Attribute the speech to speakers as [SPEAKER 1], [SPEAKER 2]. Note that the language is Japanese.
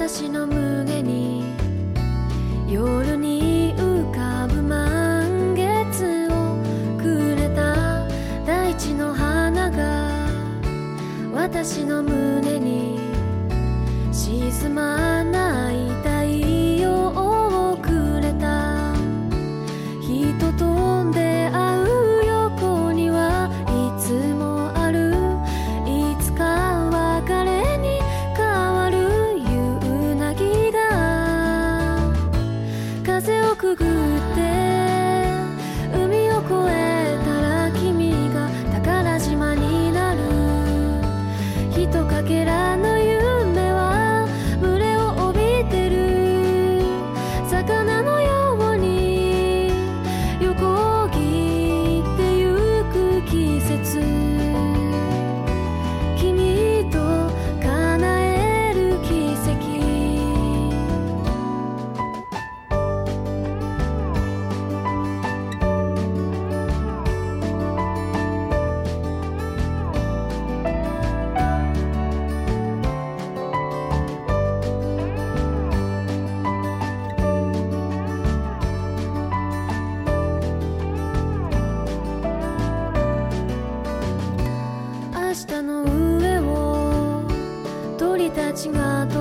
[SPEAKER 1] 私の胸に夜に浮かぶ満月をくれた大地の花が私の胸に沈まない太陽をくれた。人と出会う横にはいつもあるいつか別れに変わる夕凪が風をくぐって海を越えたら君が宝島になる。ひとかけらの夢は群れを帯びてる魚のように横切ってゆく季節、君と叶える奇跡。明日の上を鳥たちが飛